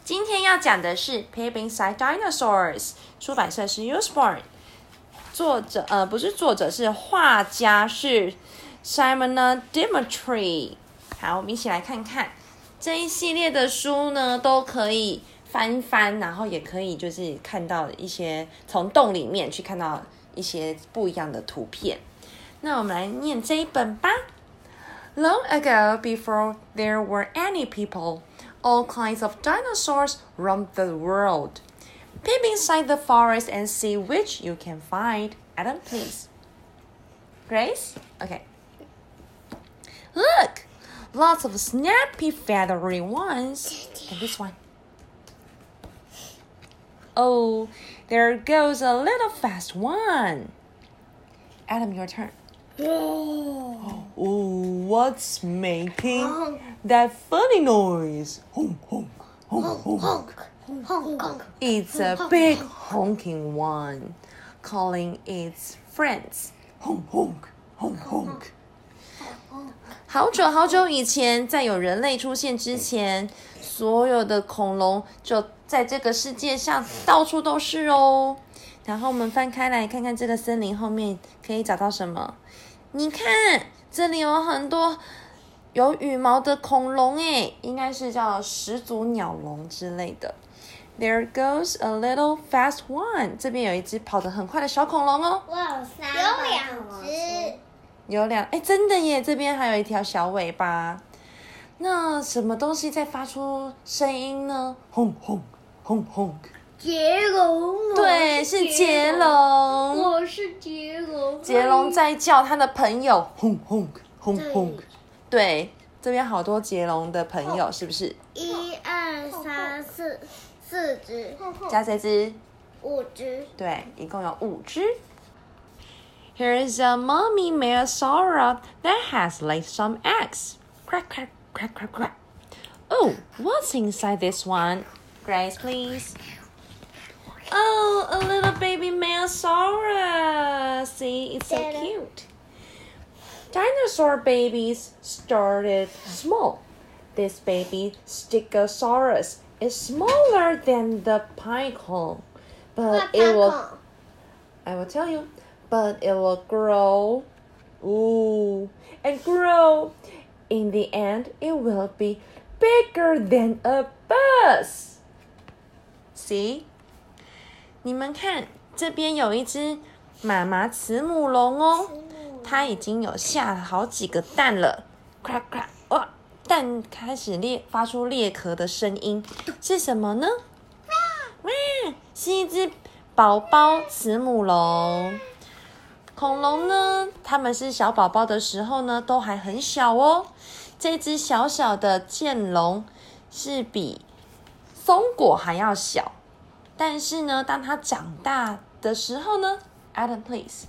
今天要讲的是《Peep Inside Dinosaurs》，出版社是 Usborne， 是画家是 Simona Dimitri。好，我们一起来看看这一系列的书呢，都可以翻翻，然后也可以就是看到一些从洞里面去看到一些不一样的图片。那我们来念这一本吧。Long ago, before there were any people, all kinds of dinosaurs roamed the world. Peep inside the forest and see which you can find. Adam, please. Grace? Okay. Look! Lots of snappy, feathery ones. And this one. Oh, there goes a little fast one. Adam, your turn. Oh, what's making that funny noise? Honk, honk, honk, honk. It's a big honking one, calling its friends. Honk, honk, honk, honk. 好久好久以前，在有人类出现之前，所有的恐龙就在这个世界上到处都是哦。然后我们翻开来看看这个森林后面可以找到什么。你看，这里有很多有羽毛的恐龙诶，应该是叫始祖鸟龙之类的。There goes a little fast one， 这边有一只跑得很快的小恐龙哦。 我有2只。 有真的耶，这边还有一条小尾巴。那什么东西在发出声音呢？轰轰轰轰。 杰龙， 对，是杰龙。 我是杰龙。 杰龙在叫他的朋友，轰轰轰轰。对，这边好多杰龙的朋友，是不是 ？1、2、3、4只， 加这只 5只。 对，一共有5只。Here's a mommy Megasaura that has laid some eggs. Crack, crack, crack, crack, crack. Oh, what's inside this one? Grace, please. Oh, a little baby Megasaurus. See, it's so cute. Dinosaur babies started small. This baby Stegosaurus is smaller than the pinnacle, but it will... I will tell you, but it will grow. And grow. In the end, it will be bigger than a bus. See?你们看，这边有一只妈妈慈母龙哦，它已经有下了好几个蛋了，咔咔，哇！蛋开始发出裂壳的声音，是什么呢？哇，是一只宝宝慈母龙。恐龙呢，它们是小宝宝的时候呢，都还很小哦。这只小小的剑龙是比松果还要小。但是呢，当它长大的时候呢 ，Adam please，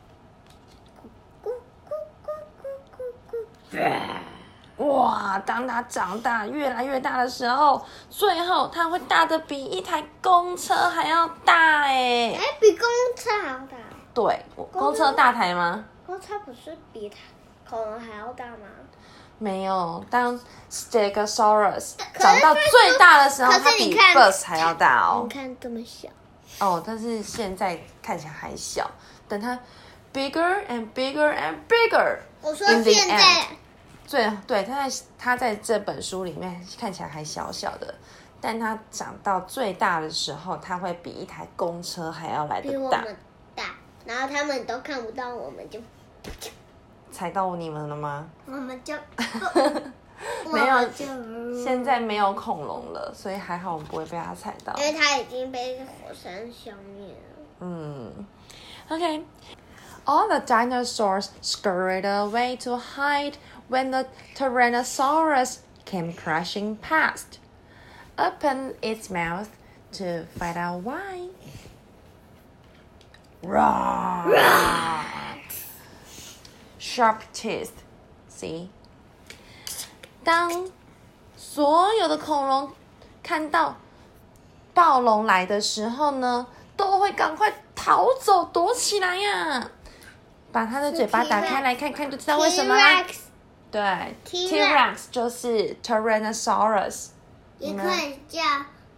哇！当它长大越来越大的时候，最后它会大的比一台公车还要大哎！ 比公车还要大？ 对，公车大台吗？ 公车不是比恐龙还要大吗？ 没有，当 Stegosaurus 长到最大的时候，它比 bus 还要大哦。 你看这么小。 哦，但是现在看起来还小。等它 bigger and bigger and bigger。 我说现在。 对，它在这本书里面看起来还小小的，但它长到最大的时候，它会比一台公车还要来得大。 比我们大，然后他们都看不到，我们就。 踩到你们了吗？ 我们就没有，现在没有恐龙了，所以还好我们不会被它踩到， 因为它已经被火山消灭了。 Okay. All the dinosaurs scurried away to hide when the Tyrannosaurus came crashing past. Opened its mouth to find out why. Roar! Sharp teeth. See? 当所有的恐龙看到暴龙来的时候呢，都会赶快逃走，躲起来呀！把它的嘴巴打开来看看，就知道为什么啦。对 ，T-Rex 就是 Tyrannosaurus， 也可以叫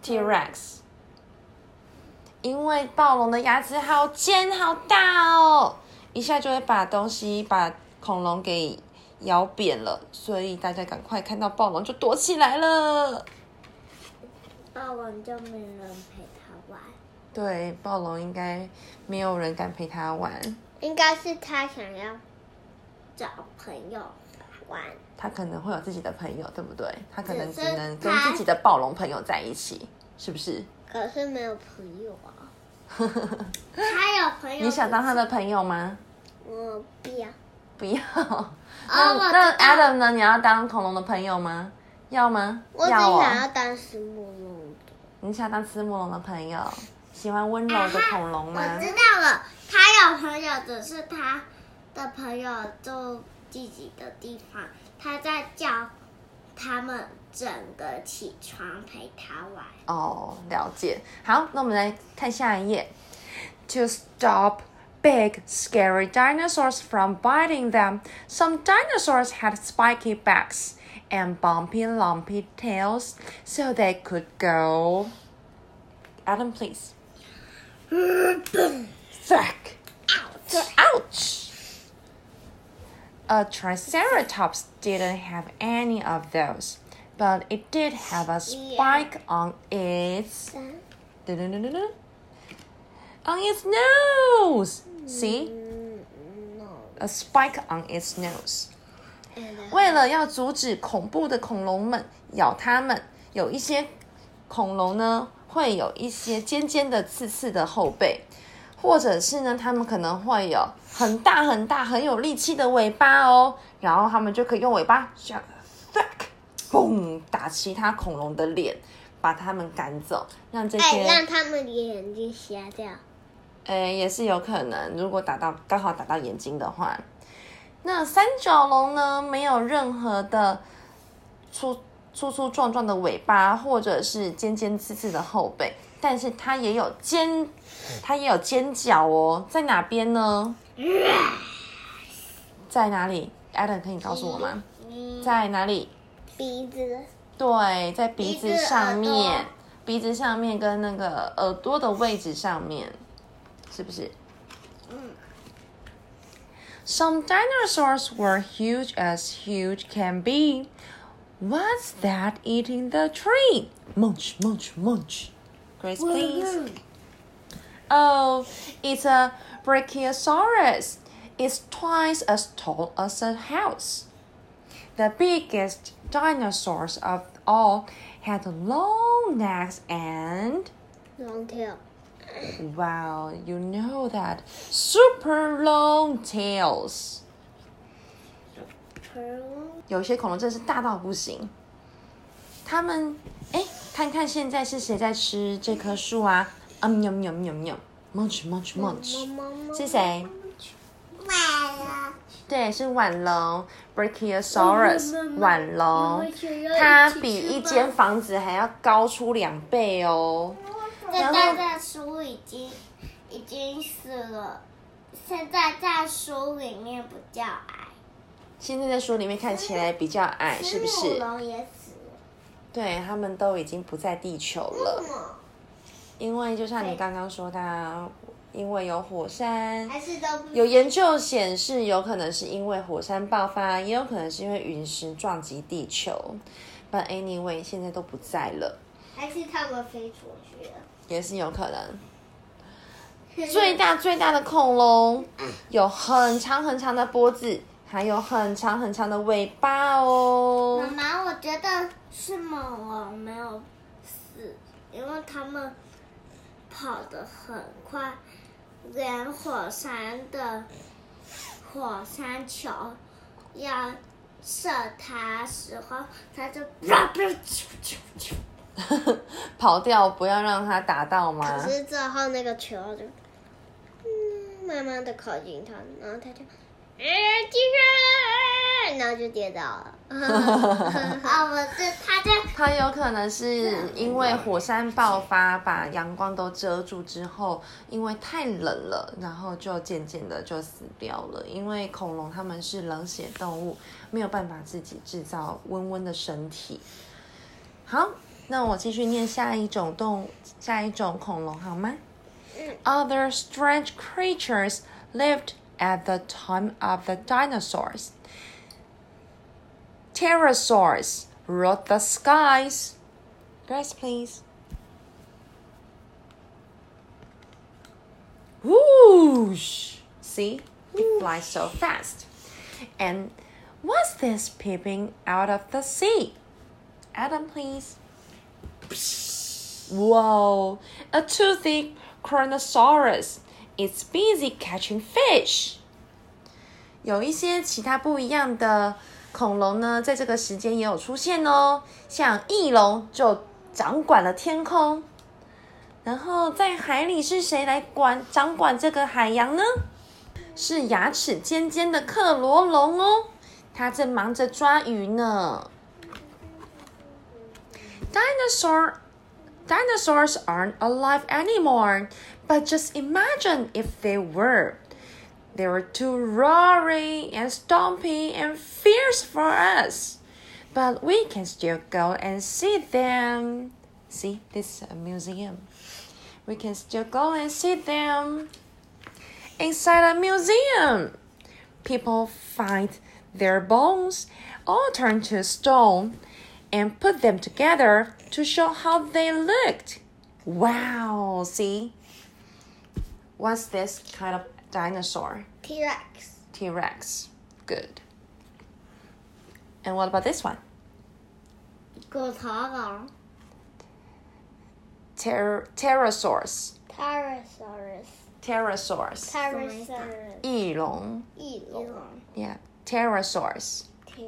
T-Rex， 因为暴龙的牙齿好尖好大哦，一下就会把恐龙给咬扁了，所以大家赶快看到暴龙就躲起来了。 暴龙就没人陪他玩。 对，暴龙应该没有人敢陪他玩， 应该是他想要找朋友玩。 他可能会有自己的朋友，对不对？他可能只只是能跟自己的暴龙朋友在一起，是不是？ 可是没有朋友啊。他有朋友。 你想当他的朋友吗？ 我不要。 不要。 我知道 Adam 呢？你要当恐龙的朋友吗？要吗？ 我只要哦。 想要当石木龙的。 你想当慈母龙的朋友？喜欢温柔的恐龙吗？ 我知道了，他有朋友，只是他的朋友住自己的地方，他在叫他们整个起床陪他玩。 哦，了解。好，那我们来看下一页。To stop big, scary dinosaurs from biting them, some dinosaurs had spiky backs and bumpy, lumpy tails, so they could go. Adam, please. Thwack. Ouch. A Triceratops didn't have any of those, but it did have a spike on its nose. See? A spike on its nose. 为了要阻止恐怖的恐龙们咬它们，有一些恐龙呢会有一些尖尖的、刺刺的后背，或者是呢，它们可能会有很大很大、很有力气的尾巴哦，然后它们就可以用尾巴像 thwack， 嘣打其他恐龙的脸，把它们赶走，让这些让他们的眼睛瞎掉。 也是有可能，如果刚好打到眼睛的话。那三角龙呢，没有任何的粗壮壮的尾巴，或者是尖尖刺刺的后背，但是它也有尖角哦，在哪边呢？在哪里 ？Adam 可以告诉我吗？在哪里？ 鼻子。 对，在鼻子上面，鼻子上面跟那个耳朵的位置上面，是不是？Some dinosaurs were huge as huge can be. What's that eating the tree? Munch, munch, munch. Grace, please. Oh, it's a Brachiosaurus. It's twice as tall as a house. The biggest dinosaurs of all had long necks and... long tail. Wow, you know that. Super long tails. 有些恐龙真是大到不行。他们，看看现在是谁在吃这棵树啊？Munch, munch, munch. 是谁？对，是腕龙 ，Brachiosaurus 腕龙。它比一间房子还要高出2倍哦。 现在在书已经死了，现在在书里面比较矮。 现在在书里面看起来比较矮，是不是？ 恐龙也死了。 对，他们都已经不在地球了。因为就像你刚刚说的，因为有火山，有研究显示，有可能是因为火山爆发，也有可能是因为陨石撞击地球。But anyway， 现在都不在了。 还是他们飞出去了？ 也是有可能。最大的恐龙有很长很长的脖子，还有很长很长的尾巴哦。 妈妈，我觉得是猛龙没有死，因为他们跑得很快，连火山球要射它时候，它就跑掉，不要让它打到吗？ 可是之后那个球就慢慢的靠近它，然后它就继续，然后就跌倒了。 它有可能是因为火山爆发把阳光都遮住之后，因为太冷了，然后就渐渐的就死掉了。因为恐龙它们是冷血动物，没有办法自己制造温温的身体。好， 那我继续念下一种恐龙好吗？Other strange creatures lived at the time of the dinosaurs. Pterosaurs ruled the skies. Grace, please. Whoosh! See? It flies so fast. And what's this peeping out of the sea? Adam, please. Whoa! A toothy Kronosaurus. It's busy catching fish. 有一些其他不一样的恐龙呢，在这个时间也有出现哦。像翼龙就掌管了天空，然后在海里是谁来掌管这个海洋呢？是牙齿尖尖的克罗龙哦，它正忙着抓鱼呢。Dinosaurs aren't alive anymore, but just imagine if they were. They were too roaring and stompy and fierce for us. But we can still go and see them. See, this is a museum. We can still go and see them. Inside a museum, people find their bones all turned to stone and put them together to show how they looked. Wow, see? What's this kind of dinosaur? T-Rex. T-Rex. Good. And what about this one? 骨头龙 Pterosaurs. Pterosaurus. 翼龙 Yeah, pterosaurs.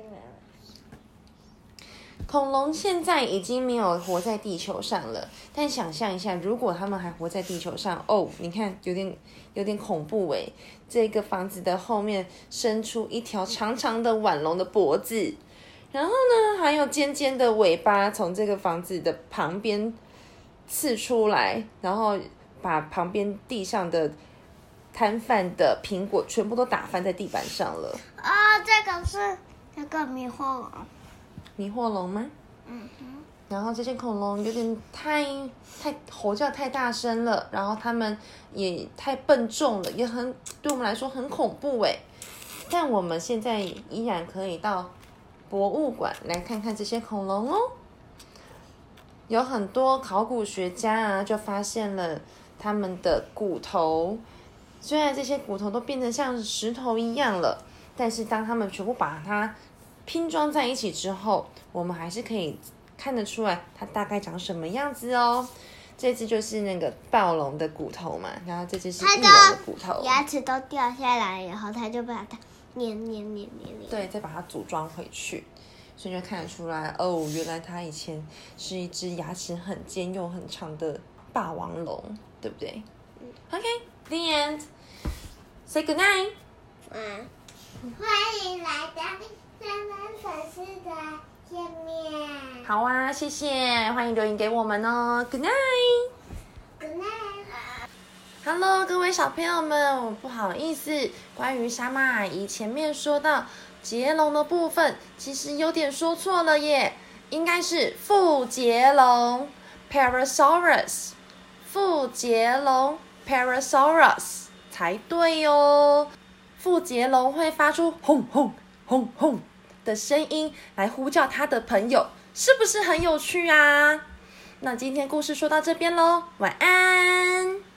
恐龙现在已经没有活在地球上了，但想象一下，如果他们还活在地球上，哦，你看有点恐怖诶。这个房子的后面伸出一条长长的腕龙的脖子，然后呢，还有尖尖的尾巴从这个房子的旁边刺出来，然后把旁边地上的摊贩的苹果全部都打翻在地板上了。 这个是那个迷惑龙。 迷惑龙吗？然后这些恐龙有点太吼叫太大声了，然后它们也太笨重了，也对我们来说很恐怖诶。但我们现在依然可以到博物馆来看看这些恐龙哦。有很多考古学家啊，就发现了他们的骨头，虽然这些骨头都变成像石头一样了，但是当他们全部把它拼装在一起之后，我们还是可以看得出来它大概长什么样子哦。这只就是那个暴龙的骨头嘛，然后这只是翼龙的骨头， 牙齿都掉下来以后，它就把它捏， 对，再把它组装回去，所以就看得出来哦，原来它以前是一只牙齿很尖又很长的霸王龙，对不对？OK，the end. Say good night. 欢迎来到妈妈粉丝的页面。 好啊，谢谢，欢迎留言给我们哦。Good night. Good night. Hello， 各位小朋友们，我不好意思，关于沙妈阿姨前面说到捷龙的部分，其实有点说错了耶，应该是腹捷龙 Parasaurus， 腹捷龙 Parasaurus 才对哦。腹捷龙会发出轰轰轰轰的声音来呼叫它的朋友，是不是很有趣啊？那今天故事说到这边咯，晚安。